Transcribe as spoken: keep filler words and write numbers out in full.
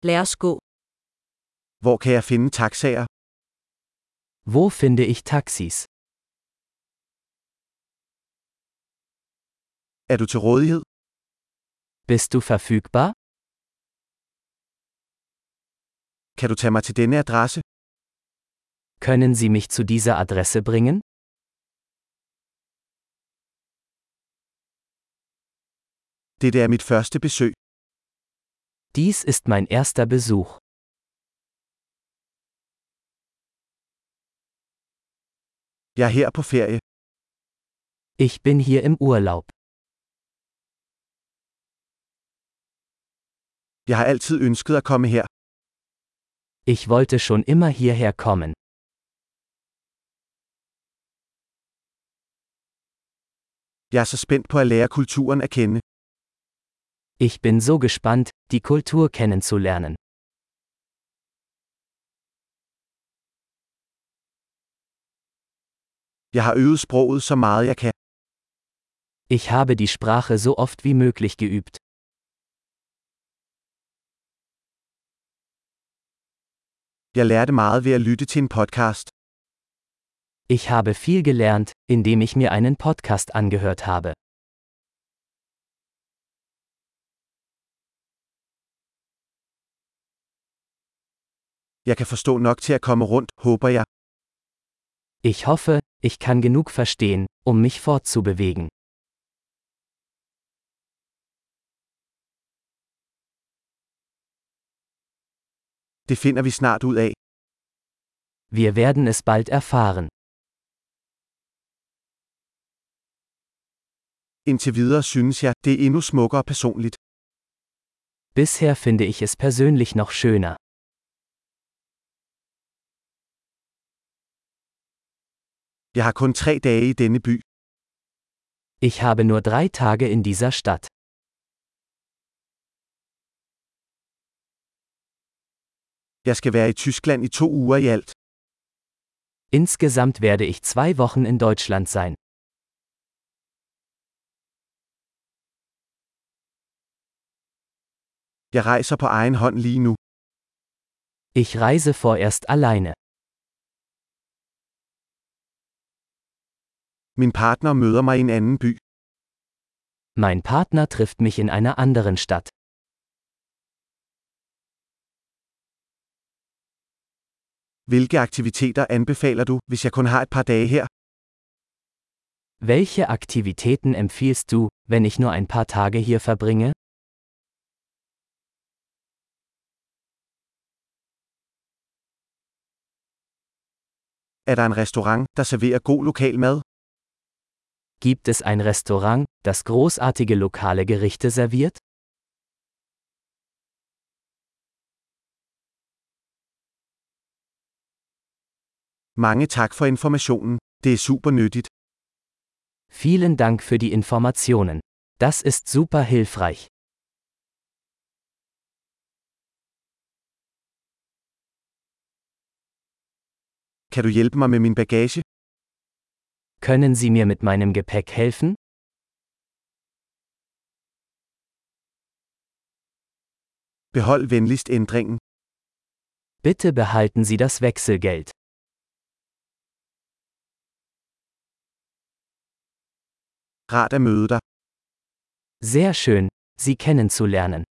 Lad os gå. Hvor kan jeg finde taxaer? Wo finde ich Taxis? Er du til rådighed? Bist du verfügbar? Kan du tage mig til denne adresse? Können Sie mich zu dieser Adresse bringen? Dette er mit første besøg. Dies ist mein erster Besuch. Jeg er her på ferie. Ich bin hier im Urlaub. Jeg har altid ønsket at komme her. Ich wollte schon immer hierher kommen. Jeg er så spændt på at lære kulturen at kende. Ich bin so gespannt, die Kultur kennenzulernen. Jeg har øvet sproget så meget jeg kan. Ich habe die Sprache so oft wie möglich geübt. Jeg lærte meget ved at lytte til en podcast. Ich habe viel gelernt, indem ich mir einen Podcast angehört habe. Jeg kan forstå nok til at komme rundt, håber jeg. Ich hoffe, ich kann genug verstehen, um mich fortzubewegen. Det finder vi snart ud af. Wir werden es bald erfahren. Indtil videre synes jeg, det er endnu smukkere personligt. Bisher finde ich es persönlich noch schöner. Jeg har kun tre dage i denne by. Ich habe nur drei Tage in dieser Stadt. Jeg skal være i Tyskland i to uger i alt. Insgesamt werde ich zwei Wochen in Deutschland sein. Jeg rejser på egen hånd lige nu. Ich reise vorerst alleine. Min partner møder mig i en anden by. Mein Partner trifft mich in einer anderen Stadt. Hvilke aktiviteter anbefaler du, hvis jeg kun har et par dage her? Welche Aktivitäten empfiehlst du, wenn ich nur ein paar Tage hier verbringe? Er der en restaurant, der serverer god lokal mad? Gibt es ein Restaurant, das großartige lokale Gerichte serviert? Mange tak for informationen. Det er super nyttigt. Vielen Dank für die Informationen. Das ist super hilfreich. Kan du hjælpe mig med min bagage? Können Sie mir mit meinem Gepäck helfen? Behold venligst ændringen. Bitte behalten Sie das Wechselgeld. Rart at møde dig. Sehr schön, Sie kennenzulernen.